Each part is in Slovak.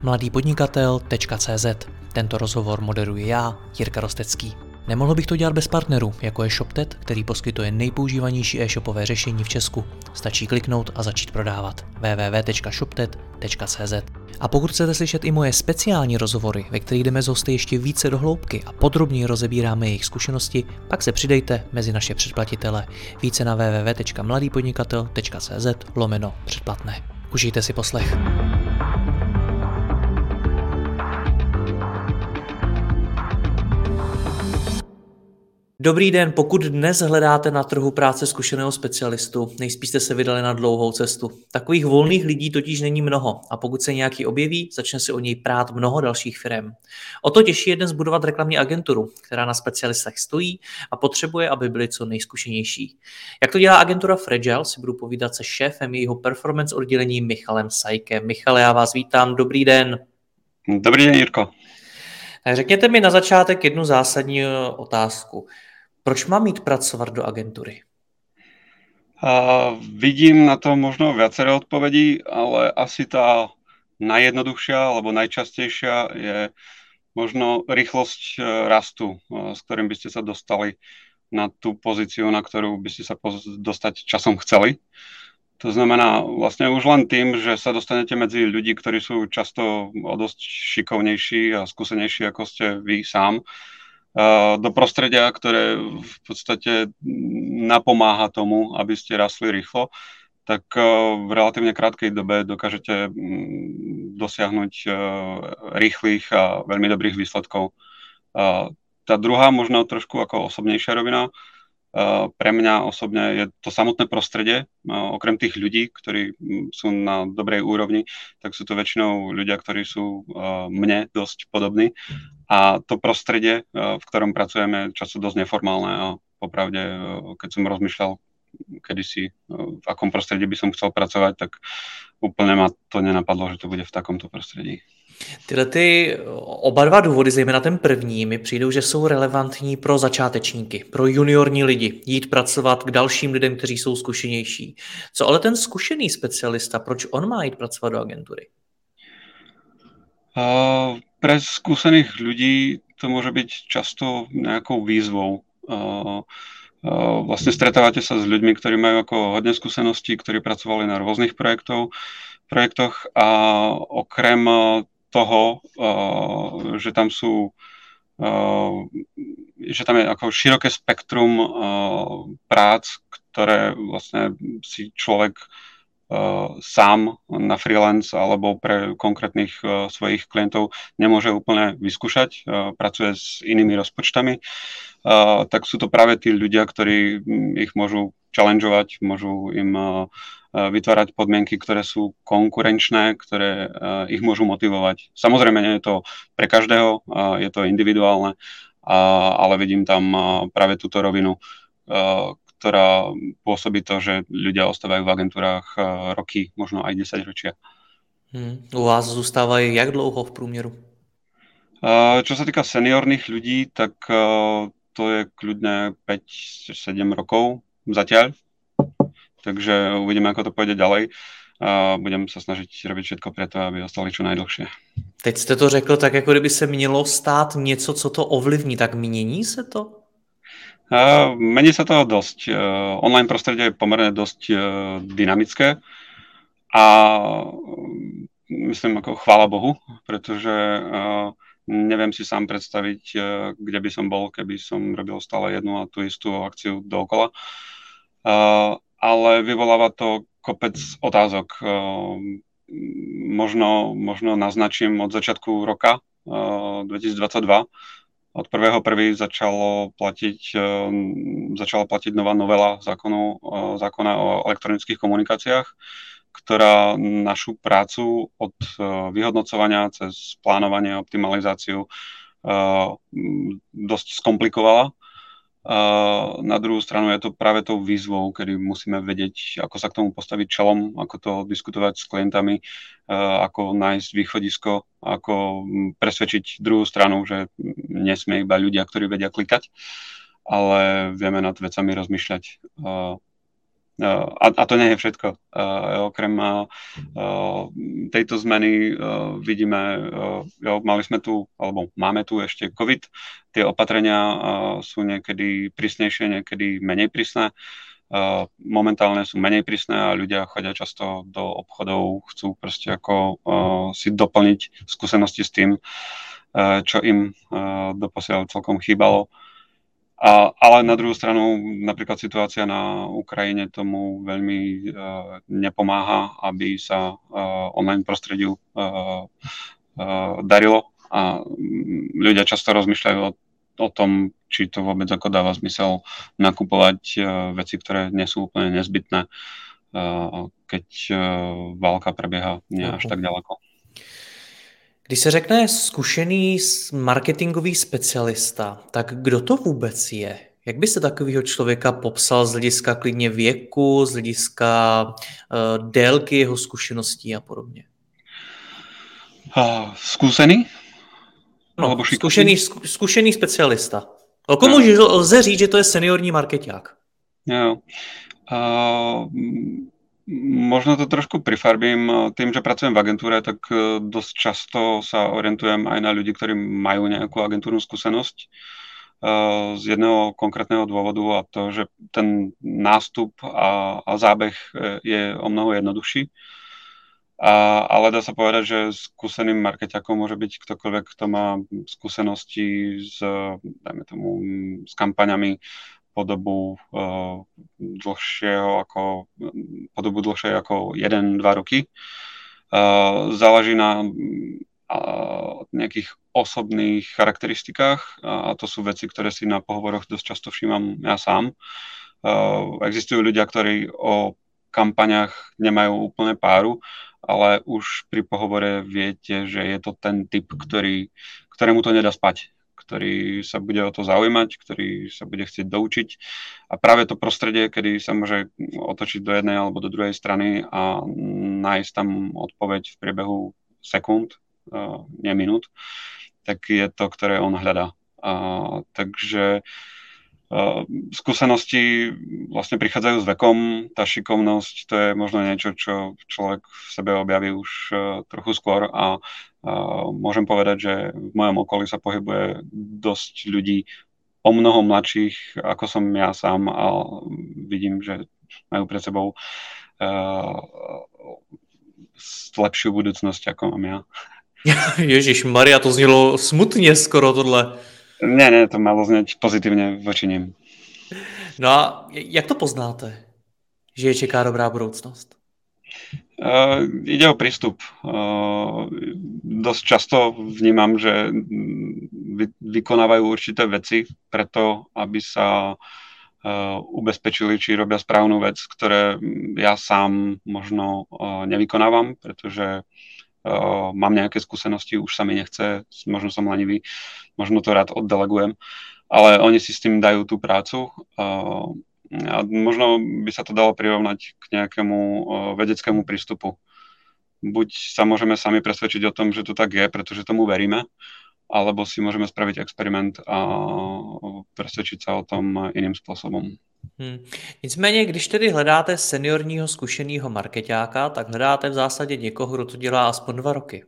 mladýpodnikatel.cz. Tento rozhovor moderuji já, Jirka Rostecký. Nemohl bych to dělat bez partnerů, jako je ShopTet, který poskytuje nejpoužívanější e-shopové řešení v Česku. Stačí kliknout a začít prodávat. www.shoptet.cz. A pokud chcete slyšet i moje speciální rozhovory, ve kterých jdeme z hosty ještě více do hloubky a podrobněji rozebíráme jejich zkušenosti, pak se přidejte mezi naše předplatitele. Více na www.mladýpodnikatel.cz/předplatné. Užijte si poslech. Dobrý den, pokud dnes hledáte na trhu práce zkušeného specialistu, nejspíš jste se vydali na dlouhou cestu. Takových volných lidí totiž není mnoho a pokud se nějaký objeví, začne si o něj prát mnoho dalších firem. O to těžší je dnes budovat reklamní agenturu, která na specialistech stojí a potřebuje, aby byli co nejzkušenější. Jak to dělá agentura Fragile, si budu povídat se šéfem jejího performance oddělení Michalem Sajkem. Michale, já vás vítám, dobrý den. Dobrý den, Jirko. Tak řekněte mi na začátek jednu zásadní otázku. Proč mám jít pracovat do agentury? Vidím na to možno viaceré odpovedí, ale asi tá najjednoduchšia alebo najčastejšia je možno rýchlosť rastu, s ktorým by ste sa dostali na tú pozíciu, na ktorú by ste sa dostať časom chceli. To znamená vlastne už len tým, že sa dostanete medzi ľudí, ktorí sú často o dosť šikovnejší a skúsenejší, ako ste vy sám, do prostredia, ktoré v podstate napomáha tomu, aby ste rastli rýchlo, tak v relatívne krátkej dobe dokážete dosiahnuť rýchlych a veľmi dobrých výsledkov. Tá druhá, možno trošku ako osobnejšia rovina, pre mňa osobne je to samotné prostredie. Okrem tých ľudí, ktorí sú na dobrej úrovni, tak sú to väčšinou ľudia, ktorí sú mne dosť podobní. A to prostredie, v ktorom pracujeme, je často dosť neformálne a popravde, keď som rozmýšľal kedysi, v akom prostredí by som chcel pracovať, tak úplne ma to nenapadlo, že to bude v takomto prostredí. Tyhle oba dva důvody, zejména ten první, mi přijdou, že jsou relevantní pro začátečníky, pro juniorní lidi, jít pracovat k dalším lidem, kteří jsou zkušenější. Co ale ten zkušený specialista, proč on má jít pracovat do agentury? Pre skúsených ľudí to môže byť často nejakou výzvou. Vlastne stretávate sa s ľuďmi, ktorí majú ako hodne skúseností, ktorí pracovali na rôznych projektoch a okrem toho, že tam je ako široké spektrum prác, ktoré vlastne si človek sám na freelance alebo pre konkrétnych svojich klientov nemôže úplne vyskúšať, pracuje s inými rozpočtami, tak sú to práve tí ľudia, ktorí ich môžu challengeovať, môžu im vytvárať podmienky, ktoré sú konkurenčné, ktoré ich môžu motivovať. Samozrejme, nie je to pre každého, je to individuálne, ale vidím tam práve túto rovinu, ktorá pôsobí to, že ľudia ostávajú v agentúrách roky, možno aj 10 ročia. U vás zůstávají jak dlouho v průměru? Čo sa týka seniorných ľudí, tak to je kľudne 5-7 rokov zatiaľ. Takže uvidíme, ako to pôjde ďalej. Budem sa snažiť robiť všetko preto, aby ostali čo najdlhšie. Teď jste to řekl tak, jako kdyby se mělo stát něco, co to ovlivní. Tak mění se to? Mení sa to dosť. Online prostredie je pomerne dosť dynamické a myslím, ako chvála Bohu, pretože neviem si sám predstaviť, kde by som bol, keby som robil stále jednu a tú istú akciu dookola. Ale vyvoláva to kopec otázok. Možno naznačím od začiatku roka 2022. Od 1.1. začala platiť nová novela zákona o elektronických komunikáciách, ktorá našu prácu od vyhodnocovania cez plánovanie a optimalizáciu dosť skomplikovala. Na druhú stranu je to práve tou výzvou, kedy musíme vedieť, ako sa k tomu postaviť čelom, ako to diskutovať s klientami, ako nájsť východisko, ako presvedčiť druhú stranu, že nesmie iba ľudia, ktorí vedia klikať, ale vieme nad vecami rozmýšľať. A to nie je všetko. Okrem tejto zmeny vidíme, mali sme tu, alebo máme tu ešte COVID. Tie opatrenia sú niekedy prísnejšie, niekedy menej prísne. Momentálne sú menej prísne a ľudia chodia často do obchodov, chcú proste ako si doplniť skúsenosti s tým, čo im doposiaľ celkom chýbalo. Ale na druhú stranu napríklad situácia na Ukrajine tomu veľmi nepomáha, aby sa online prostrediu darilo a ľudia často rozmýšľajú o tom, či to vôbec ako dáva zmysel nakupovať veci, ktoré nie sú úplne nezbytné, keď válka prebieha nie až tak ďaleko. Když se řekne zkušený marketingový specialista, tak kdo to vůbec je? Jak byste takového člověka popsal z hlediska klidně věku, z hlediska délky jeho zkušeností a podobně? Skúsený? No, zkušený specialista. O komu lze říct, že to je seniorní markeťák? Jo. Možno to trošku prifarbím. Tým, že pracujem v agentúre, tak dosť často sa orientujem aj na ľudí, ktorí majú nejakú agentúrnu skúsenosť z jedného konkrétneho dôvodu, a to, že ten nástup a zábeh je o mnoho jednoduchší. Ale dá sa povedať, že skúseným markeťakom môže byť ktokoľvek, kto má skúsenosti dajme tomu, s kampaňami po dobu dlhšie ako 1-2 roky. Záleží na nejakých osobných charakteristikách a to sú veci, ktoré si na pohovoroch dosť často všímam ja sám. Existujú ľudia, ktorí o kampaňach nemajú úplne páru, ale už pri pohovore viete, že je to ten typ, ktorému to nedá spať, ktorý sa bude o to zaujímať, ktorý sa bude chcieť doučiť. A práve to prostredie, kedy sa môže otočiť do jednej alebo do druhej strany a nájsť tam odpoveď v priebehu sekúnd, nie minút, tak je to, ktoré on hľadá. Takže skúsenosti vlastne prichádzajú s vekom, tá šikovnosť, to je možno niečo, čo človek v sebe objaví už trochu skôr a môžem povedať, že v mojom okolí sa pohybuje dosť ľudí o mnoho mladších, ako som ja sám, a vidím, že majú pred sebou lepšiu budúcnosť, ako mám ja. Ježiš Maria, to znělo smutně skoro tohle. Ne, to malo znieť pozitívne voči nim. No a jak to poznáte, že je čeká dobrá budoucnost? Ide o prístup. Dosť často vnímam, že vykonávajú určité veci preto, aby sa ubezpečili, či robia správnu vec, ktoré ja sám možno nevykonávam, pretože mám nejaké skúsenosti, už sa mi nechce, možno som lenivý, možno to rád oddelegujem, ale oni si s tým dajú tú prácu a možno by sa to dalo prirovnať k nejakému vedeckému prístupu. Buď sa môžeme sami presvedčiť o tom, že to tak je, pretože tomu veríme, alebo si môžeme spraviť experiment a presvedčiť sa o tom iným spôsobom. Nicméně, když tedy hledáte seniorního zkušeného markeťáka, tak hledáte v zásadě někoho, kdo to dělá aspoň 2 roky.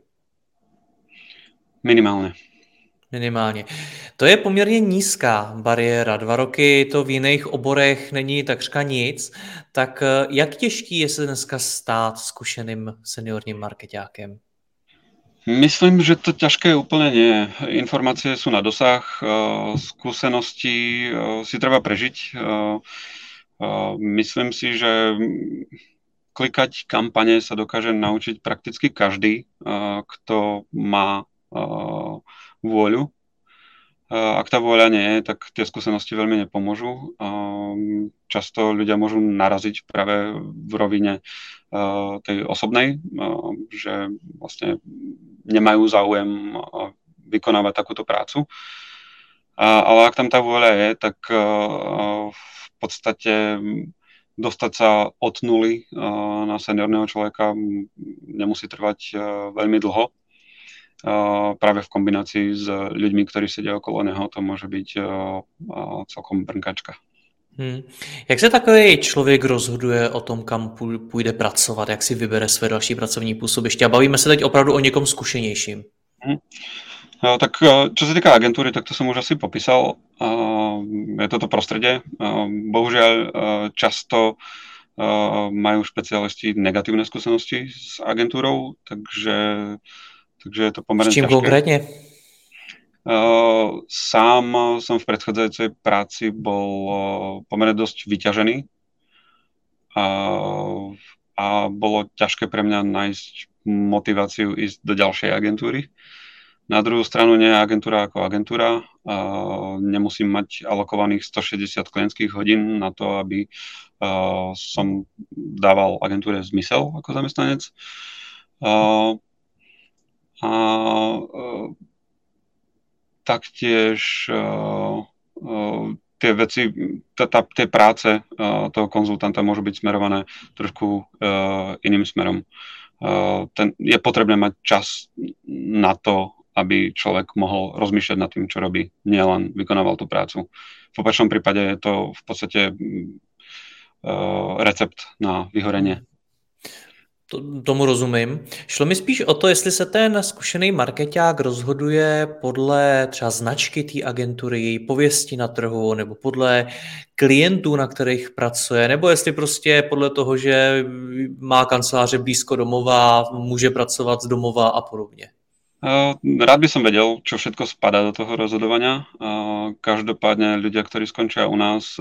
Minimálně. To je poměrně nízká bariéra. 2 roky to v jiných oborech není takřka nic. Tak jak těžký je se dneska stát zkušeným seniorním markeťákem? Myslím, že to ťažké úplne nie. Informácie sú na dosah, skúsenosti si treba prežiť. Myslím si, že klikať kampane sa dokáže naučiť prakticky každý, kto má vôľu. Ak tá vôľa nie je, tak tie skúsenosti veľmi nepomôžu. Často ľudia môžu naraziť práve v rovine tej osobnej, že vlastne nemajú záujem vykonávať takúto prácu. Ale ak tam tá vôľa je, tak v podstate dostať sa od nuly na seniorného človeka nemusí trvať veľmi dlho. Práve v kombinácii s ľuďmi, ktorí sedia okolo neho, to môže byť celkom brnkačka. Jak se takový člověk rozhoduje o tom, kam půjde pracovat, jak si vybere své další pracovní působiště? A bavíme se teď opravdu o někom zkušenějším. Mhm. Tak čo sa týka agentúry, tak to som už asi popísal. Je toto prostredie. Bohužiaľ často majú špecialisti negatívne skúsenosti s agentúrou, takže je to pomerne S čím ťažké. konkrétne? Sám som v predchádzajúcej práci bol pomerne dosť vyťažený a bolo ťažké pre mňa nájsť motiváciu ísť do ďalšej agentúry. Na druhú stranu nie je agentúra ako agentúra. Nemusím mať alokovaných 160 klientských hodín na to, aby som dával agentúre zmysel ako zamestnanec. Taktiež tie veci, tie práce toho konzultanta môžu byť smerované trošku iným smerom. Je potrebné mať čas na to, aby človek mohol rozmýšľať nad tým, čo robí, nielen vykonával tú prácu. V opačnom prípade je to v podstate recept na vyhorenie. Tomu rozumím. Šlo mi spíš o to, jestli se ten zkušený markeťák rozhoduje podle třeba značky té agentury, její pověsti na trhu, nebo podle klientů, na kterých pracuje, nebo jestli prostě podle toho, že má kanceláře blízko domova, může pracovat z domova a podobně. Rád by som vedel, čo všetko spadá do toho rozhodovania. Každopádne ľudia, ktorí skončia u nás,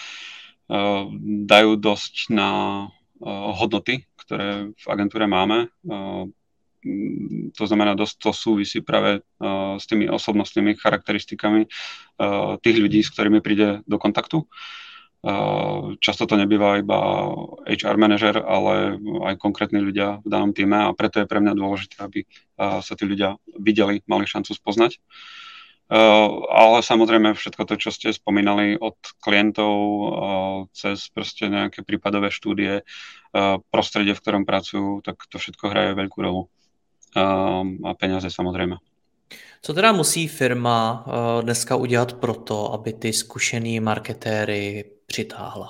dajú dosť na hodnoty, ktoré v agentúre máme. To znamená, dosť to súvisí práve s tými osobnostnými charakteristikami tých ľudí, s ktorými príde do kontaktu. Často to nebýva iba HR manažer, ale aj konkrétni ľudia v danom týme a preto je pre mňa dôležité, aby sa tí ľudia videli, mali šancu spoznať. Ale samozrejme všetko to, čo ste spomínali od klientov cez proste nejaké prípadové štúdie, prostredie, v ktorom pracujú, tak to všetko hraje veľkú rolu. A peniaze samozrejme. Co teda musí firma dneska udělat pro to, aby ty zkušený marketéry přitáhla?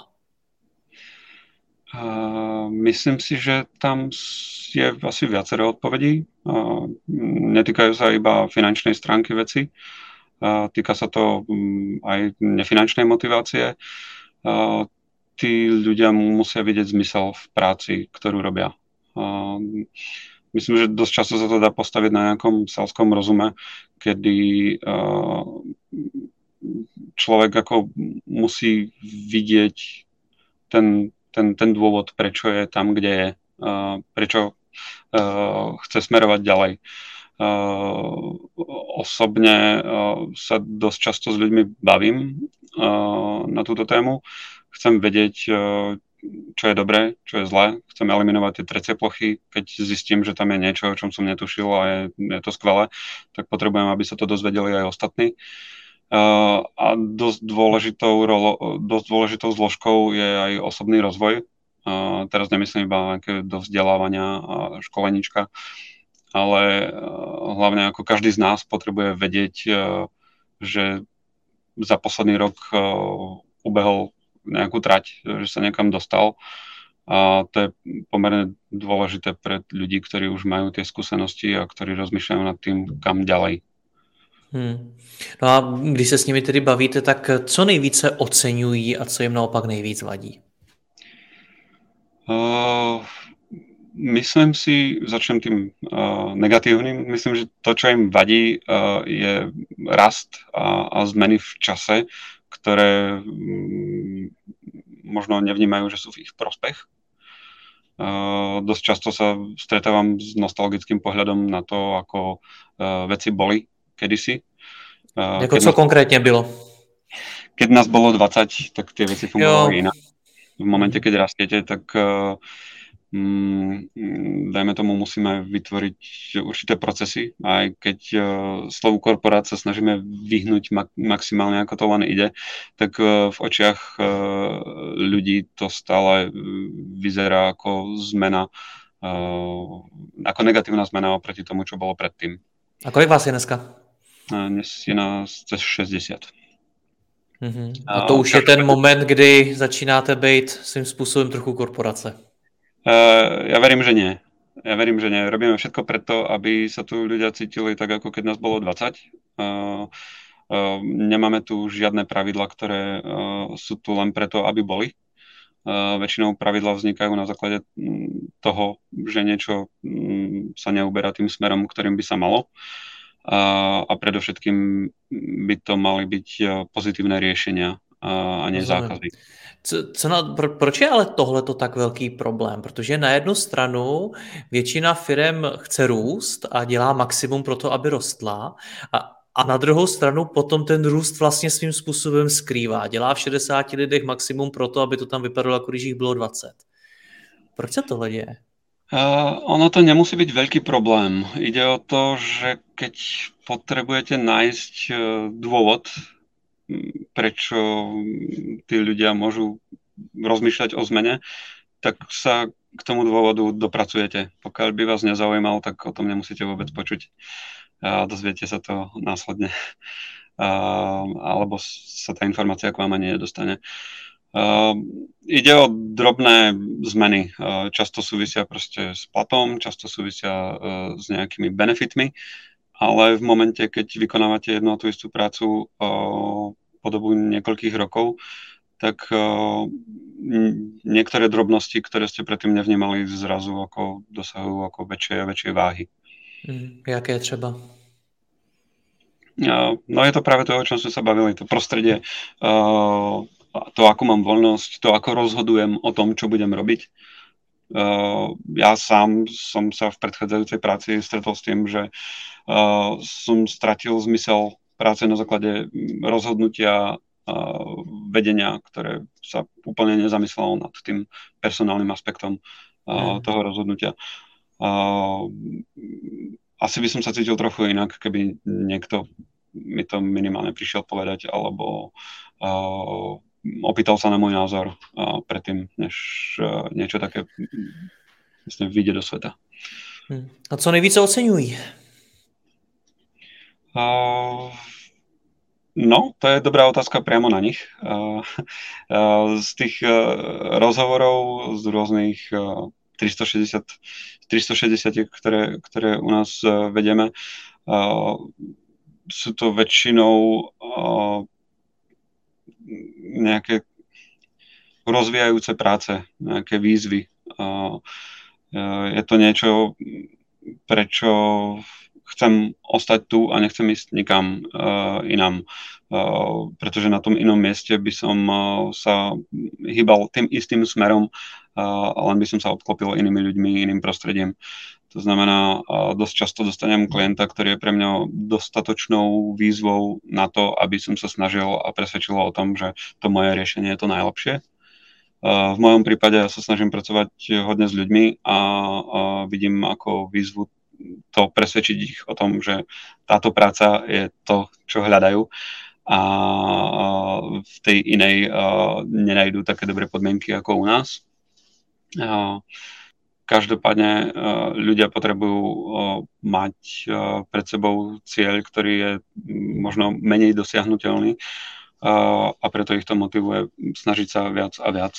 Myslím si, že tam je asi viacero odpovedí. Netýkajú sa iba finančnej stránky veci. Týka sa to aj nefinančnej motivácie. Tí ľudia musia vidieť zmysel v práci, ktorú robia. Myslím, že dosť často sa to dá postaviť na nejakom selskom rozume, kedy človek ako musí vidieť ten dôvod, prečo je tam, kde je, prečo chce smerovať ďalej. Osobne sa dosť často s ľuďmi bavím na túto tému. Chcem vedieť, čo je dobré, čo je zlé. Chcem eliminovať tie trecie plochy. Keď zistím, že tam je niečo, o čom som netušil a je to skvelé, tak potrebujem, aby sa to dozvedeli aj ostatní. A dosť dôležitou zložkou je aj osobný rozvoj. Teraz nemyslím iba do vzdelávania a školeníčka, ale hlavne ako každý z nás potrebuje vedieť, že za posledný rok ubehol nejakú trať, že sa niekam dostal. A to je pomerne dôležité pre ľudí, ktorí už majú tie skúsenosti a ktorí rozmýšľajú nad tým, kam ďalej. No a když se s nimi tedy bavíte, tak co nejvíce oceňují a co jim naopak nejvíc vadí? Myslím si, začnem tým negatívnym, myslím, že to, čo im vadí, je rast a zmeny v čase, ktoré možno nevnímajú, že sú v ich prospech. Dosť často sa stretávam s nostalgickým pohľadom na to, ako veci boli kedysi. Jako co konkrétně bylo? Keď nás bolo 20, tak tie veci fungovali inak. V momente, keď rastiete, tak dajme tomu, musíme vytvoriť určité procesy. Aj keď slovu korporát sa snažíme vyhnúť maximálne, ako to len ide, tak v očiach ľudí to stále vyzerá ako zmena, ako negatívna zmena oproti tomu, čo bolo predtým. A kolik vás je dneska? Dnes je nás cez 60. A to už je ten moment, kdy začínáte být svým způsobem trochu korporace. Ja verím, že nie. Robíme všetko preto, aby sa tu ľudia cítili tak, ako keď nás bolo 20. Nemáme tu žiadne pravidlá, ktoré sú tu len preto, aby boli. Väčšinou pravidlá vznikajú na základe toho, že niečo sa neuberá tým smerom, ktorým by sa malo. A predovšetkým by to mali byť pozitívne riešenia a nie zákazy. Proč je ale tohleto tak velký problém? Protože na jednu stranu většina firem chce růst a dělá maximum pro to, aby rostla, a na druhou stranu potom ten růst vlastně svým způsobem skrývá. Dělá v 60 lidech maximum pro to, aby to tam vypadalo, jako když jich bylo 20. Proč se tohle děje? Ono to nemusí byť veľký problém. Ide o to, že keď potrebujete nájsť dôvod, prečo tí ľudia môžu rozmýšľať o zmene, tak sa k tomu dôvodu dopracujete. Pokiaľ by vás nezaujímal, tak o tom nemusíte vôbec počuť. Dozviete sa to následne. Alebo sa tá informácia k vám ani nedostane. Ide o drobné zmeny. Často súvisia proste s platom, často súvisia s nejakými benefitmi, ale v momente, keď vykonávate jednu a tú istú prácu po dobu niekoľkých rokov, tak niektoré drobnosti, ktoré ste predtým nevnímali, zrazu ako dosahujú ako väčšie a väčšie váhy. Jaké třeba? No je to práve to, o čom sme sa bavili. To prostredie, to, ako mám voľnosť, to, ako rozhodujem o tom, čo budem robiť. Ja sám som sa v predchádzajúcej práci stretol s tým, že som stratil zmysel práce na základe rozhodnutia vedenia, ktoré sa úplne nezamyslelo nad tým personálnym aspektom toho rozhodnutia. Asi by som sa cítil trochu inak, keby niekto mi to minimálne prišiel povedať, alebo opýtal sa na môj názor predtým, než niečo také vlastne vyjde do sveta. A co nejvíce oceňují? No, to je dobrá otázka priamo na nich. Z tých rozhovorov z rôznych 360, ktoré u nás vedieme, sú to väčšinou nejaké rozvíjajúce práce, nejaké výzvy. Je to niečo, prečo chcem ostať tu a nechcem ísť nikam inám, pretože na tom inom mieste by som sa hýbal tým istým smerom, len by som sa obklopil inými ľuďmi, iným prostredím. To znamená, dosť často dostanem klienta, ktorý je pre mňa dostatočnou výzvou na to, aby som sa snažil a presvedčil o tom, že to moje riešenie je to najlepšie. V mojom prípade ja sa snažím pracovať hodne s ľuďmi a vidím ako výzvu to presvedčiť ich o tom, že táto práca je to, čo hľadajú, a v tej inej nenajdú také dobré podmienky ako u nás. Každopádne ľudia potrebujú mať pred sebou cieľ, ktorý je možno menej dosiahnuteľný, a preto ich to motivuje snažiť sa viac a viac.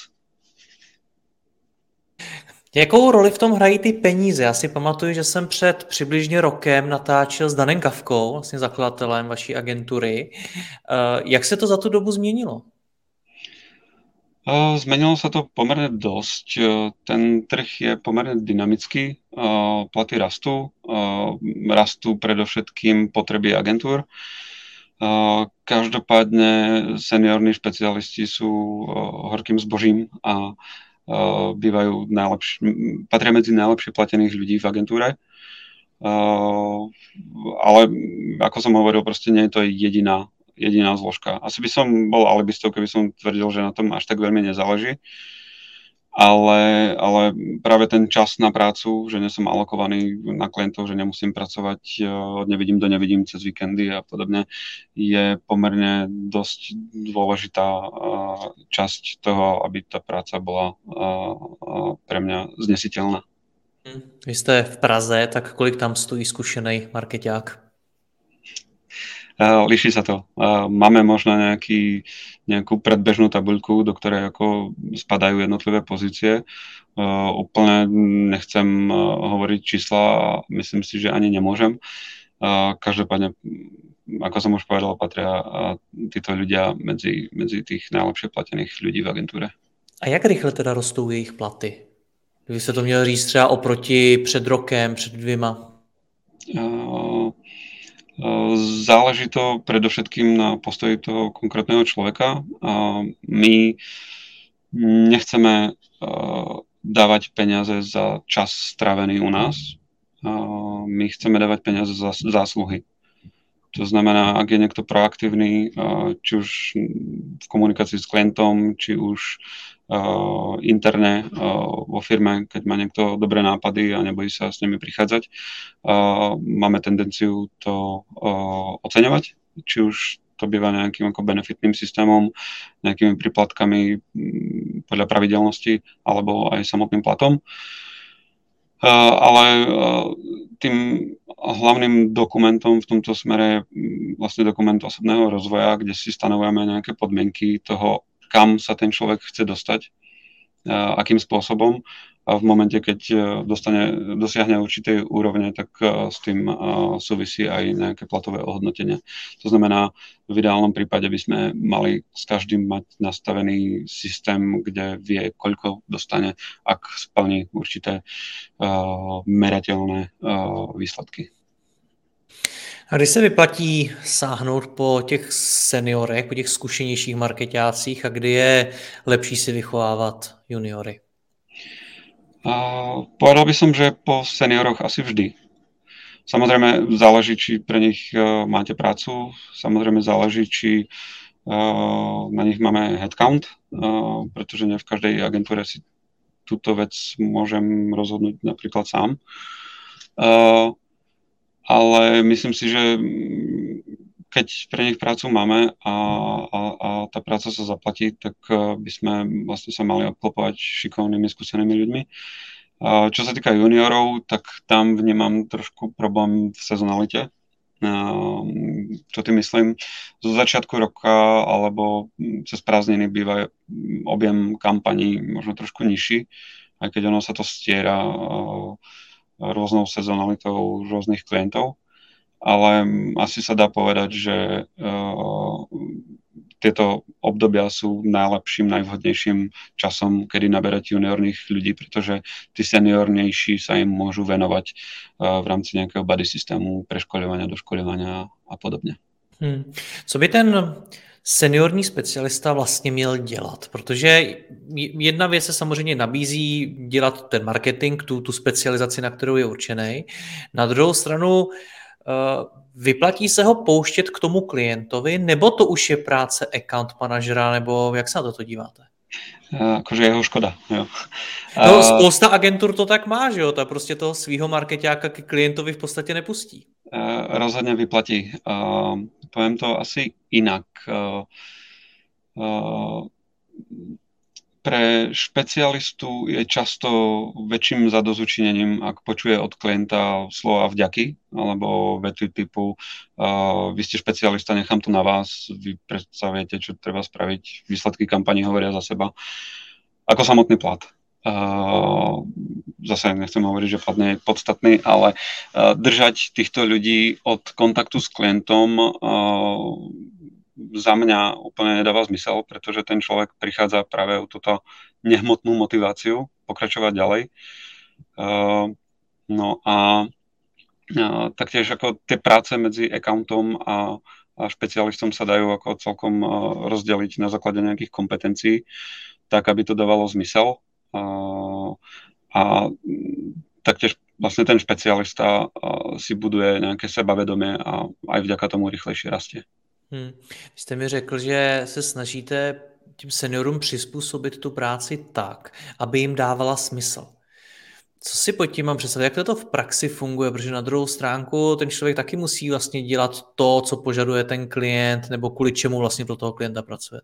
Jakou roli v tom hrají ty peníze? Já si pamatuju, že jsem před přibližně rokem natáčel s Danem Kavkou, vlastně zakladatelem vaší agentury. Jak se to za tu dobu změnilo? Zmenilo sa to pomerne dosť. Ten trh je pomerne dynamický, platy rastú, rastú predovšetkým potreby agentúr. Každopádne seniorní špecialisti sú horkým zbožím a patria medzi najlepšie platených ľudí v agentúre. Ale ako som hovoril, proste nie je to jediná zložka. Asi by som bol alibistou, keby som tvrdil, že na tom až tak veľmi nezáleží. Ale práve ten čas na prácu, že nie som alokovaný na klientov, že nemusím pracovať od nevidím do nevidím cez víkendy a podobne, je pomerne dosť dôležitá časť toho, aby tá práca bola pre mňa znesiteľná. Vy jste v Praze, tak kolik tam stojí zkušený markeťák? Líši sa to. Máme možno nejakú predbežnú tabuľku, do ktorej ako spadajú jednotlivé pozície. Úplne nechcem hovoriť čísla a myslím si, že ani nemôžem. Každopádne, ako som už povedal, patria títo ľudia medzi tých najlepšie platených ľudí v agentúre. A jak rychle teda rostou jejich platy? Kdyby se to měl říct třeba oproti před rokem, před 2? Záleží to predovšetkým na postoji toho konkrétneho človeka. My nechceme dávať peniaze za čas strávený u nás. My chceme dávať peniaze za zásluhy. To znamená, ak je niekto proaktívny, či už v komunikácii s klientom, či už interne vo firme, keď má niekto dobré nápady a nebojí sa s nimi prichádzať, máme tendenciu to oceňovať, či už to býva nejakým ako benefitným systémom, nejakými príplatkami podľa pravidelnosti alebo aj samotným platom. Ale tým hlavným dokumentom v tomto smere je vlastne dokument osobného rozvoja, kde si stanovujeme nejaké podmienky toho, kam sa ten človek chce dostať, akým spôsobom. A v momente, keď dosiahne určitej úrovne, tak s tým súvisí aj nejaké platové ohodnotenie. To znamená, v ideálnom prípade by sme mali s každým mať nastavený systém, kde vie, koľko dostane, ak splní určité merateľné výsledky. A kdy se vyplatí sáhnout po těch seniorech, po těch zkušenějších marketácích a kdy je lepší si vychovávat juniory? Povedal by som, že po senioroch asi vždy. Samozrejme záleží, či pre nich máte prácu, samozrejme záleží, či na nich máme headcount, pretože ne v každej agentúre si túto vec môžem rozhodnúť napríklad sám. Ale myslím si, že keď pre nich prácu máme a tá práca sa zaplatí, tak by sme vlastne sa mali obklopovať šikovnými, skúsenými ľuďmi. Čo sa týka juniorov, tak tam vnímam trošku problém v sezonalite. Čo tým myslím? Zo začiatku roka alebo cez prázdniny býva objem kampaní možno trošku nižší, aj keď ono sa to stiera rôznou sezonalitou rôznych klientov. Ale asi sa dá povedať, že tieto obdobia sú najlepším, najvhodnejším časom, kedy naberať juniorných ľudí, pretože tí seniornejší sa im môžu venovať v rámci nejakého buddy systému, preškoľovania, doškoľovania a podobně. Co by ten seniorní specialista vlastně měl dělat? Protože jedna věc se samozřejmě nabízí dělat ten marketing, tu specializaci, na kterou je určený. Na druhou stranu vyplatí se ho pouštět k tomu klientovi, nebo to už je práce account manažera, nebo jak se na to díváte? Akože jeho škoda, jo. No, spousta agentur to tak má, že jo? Ta prostě toho svýho markeťáka k klientovi v podstatě nepustí. Rozhodne vyplatí. Poviem to asi inak. Pre špecialistu je často väčším zadozučinením, ak počuje od klienta slova vďaky, alebo vety typu vy ste špecialista, nechám to na vás, vy predsa viete, čo treba spraviť, výsledky kampaní hovoria za seba, ako samotný plat. Zase nechcem hovoriť, že plat nie je podstatný, ale držať týchto ľudí od kontaktu s klientom za mňa úplne nedáva zmysel, pretože ten človek prichádza práve o túto nehmotnú motiváciu pokračovať ďalej. No a taktiež ako tie práce medzi accountom a špecialistom sa dajú ako celkom rozdeliť na základe nejakých kompetencií, tak aby to dávalo zmysel. A taktiež vlastne ten špecialista si buduje nejaké sebavedomie a aj vďaka tomu rýchlejšie rastie. Vy jste mi řekl, že se snažíte těm seniorům přizpůsobit tu práci tak, aby jim dávala smysl. Co si pod tím mám představit? Jak to v praxi funguje? Protože na druhou stránku ten člověk taky musí vlastně dělat to, co požaduje ten klient, nebo kvůli čemu vlastně pro toho klienta pracuje.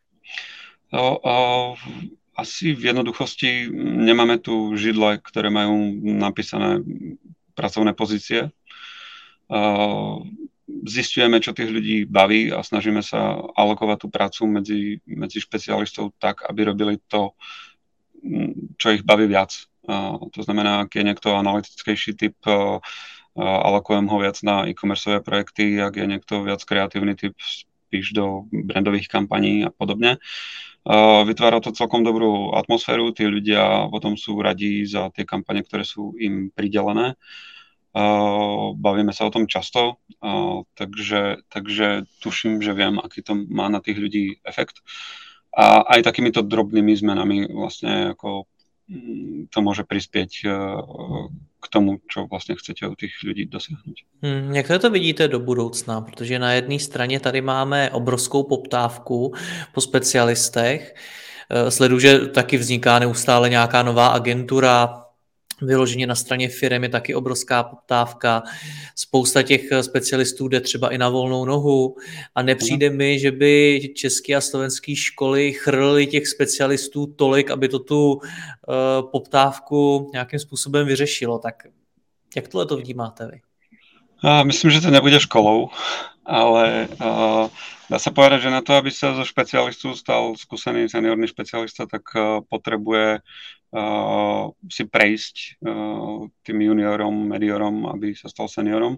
Asi v jednoduchosti nemáme tu židle, ktoré majú napísané pracovné pozície. zisťujeme, čo tých ľudí baví a snažíme sa alokovať tú prácu medzi špecialistov tak, aby robili to, čo ich baví viac. To znamená, ak je niekto analytickejší typ, alokujem ho viac na e-commerceové projekty, ak je niekto viac kreatívny typ, spíš do brandových kampaní a podobne. Vytvára to celkom dobrú atmosféru, tí ľudia potom sú radí za tie kampane, ktoré sú im pridelené. Bavíme sa o tom často, takže tuším, že viem, aký to má na tých ľudí efekt. A aj takýmito drobnými zmenami vlastne ako to môže prispieť k tomu, čo vlastně chcete od těch lidí dosáhnout. Jak to vidíte do budoucna? Protože na jedné straně tady máme obrovskou poptávku po specialistech. Sleduju, že taky vzniká neustále nějaká nová agentura. Vyloženě na straně firem je taky obrovská poptávka. Spousta těch specialistů jde třeba i na volnou nohu a nepřijde mi, že by české a slovenské školy chrlily těch specialistů tolik, aby to tu poptávku nějakým způsobem vyřešilo. Tak jak tohle to vnímáte vy? Myslím, že to nebude školou, ale dá sa povedať, že na to, aby sa zo špecialistu stal skúsený seniorný špecialista, tak potrebuje si prejsť tým juniorom, mediorom, aby sa stal seniorom.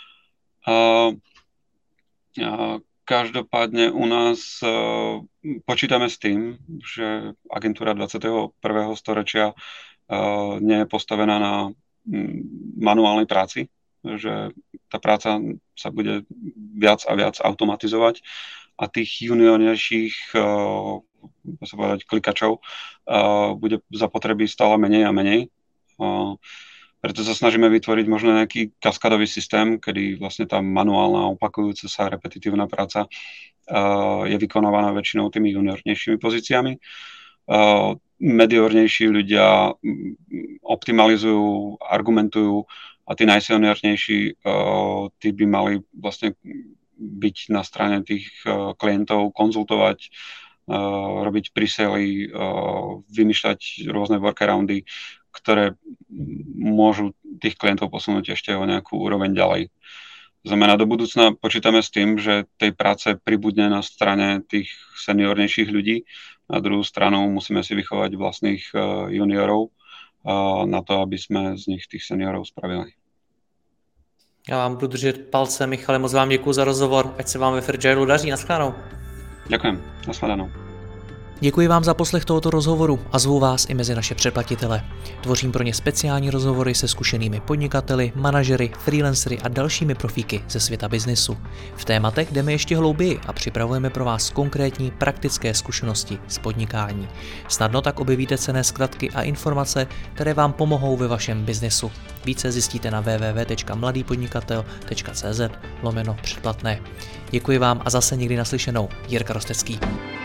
Každopádne u nás počítame s tým, že agentúra 21. storočia nie je postavená na manuálnej práci, že tá práca sa bude viac a viac automatizovať a tých juniornejších sa povedať klikačov bude zapotreby stále menej a menej. Preto sa snažíme vytvoriť možno nejaký kaskadový systém, kedy vlastne tá manuálna, opakujúca sa repetitívna práca je vykonávaná väčšinou tými juniornejšími pozíciami. Mediornejší ľudia optimalizujú, argumentujú a tí najseniornejší, tí by mali vlastne byť na strane tých klientov, konzultovať, robiť presely, vymýšľať rôzne workaroundy, ktoré môžu tých klientov posunúť ešte o nejakú úroveň ďalej. To znamená, do budúcna počítame s tým, že tej práce pribudne na strane tých seniornejších ľudí. Na druhú stranu musíme si vychovať vlastných juniorov na to, aby jsme z nich těch seniorů spravili. Já vám budu držet palce, Michale, moc vám děkuji za rozhovor, ať se vám ve Fairagile daří, nashledanou. Děkujem, nashledanou. Děkuji vám za poslech tohoto rozhovoru a zvu vás i mezi naše předplatitele. Tvořím pro ně speciální rozhovory se zkušenými podnikateli, manažery, freelancery a dalšími profíky ze světa biznisu. V tématech jdeme ještě hlouběji a připravujeme pro vás konkrétní praktické zkušenosti z podnikání. Snadno tak objevíte cenné zkratky a informace, které vám pomohou ve vašem biznisu. Více zjistíte na www.mladýpodnikatel.cz/předplatné. Děkuji vám a zase někdy naslyšenou. Jirka Rostecký.